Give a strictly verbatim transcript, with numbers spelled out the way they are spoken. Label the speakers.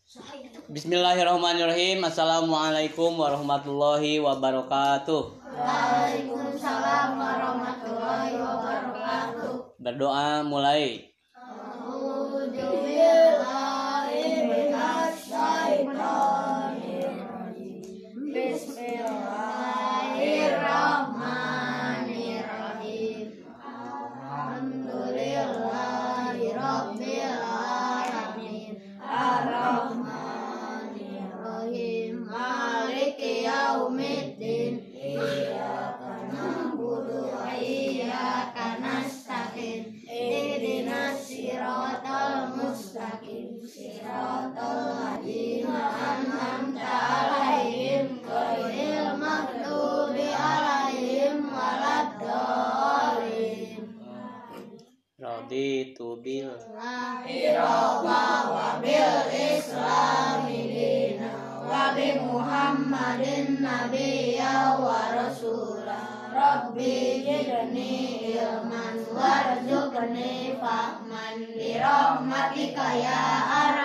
Speaker 1: Bismillahirrahmanirrahim. Assalamualaikum warahmatullahi wabarakatuh.
Speaker 2: Waalaikumsalam warahmatullahi wabarakatuh.
Speaker 1: Berdoa mulai.
Speaker 2: Bismillahirrahmanirrahim. Alhamdulillahirabbil alamin. Arrahmanirrahim. Maliki yaumiddin. Iyyaka na'budu wa iyyaka nasta'in. Ihdinas siratal mustaqim. Siratal ladzina an'amta 'alaihim ghairil maghdubi 'alaihim waladdallin.
Speaker 1: Raditu bil
Speaker 2: Akhirah wa bil islami dina wa bi Muhammadin nabiyya wa rasulah. Rabbi zidni ilman warzuqni fahman bi rahmatika ya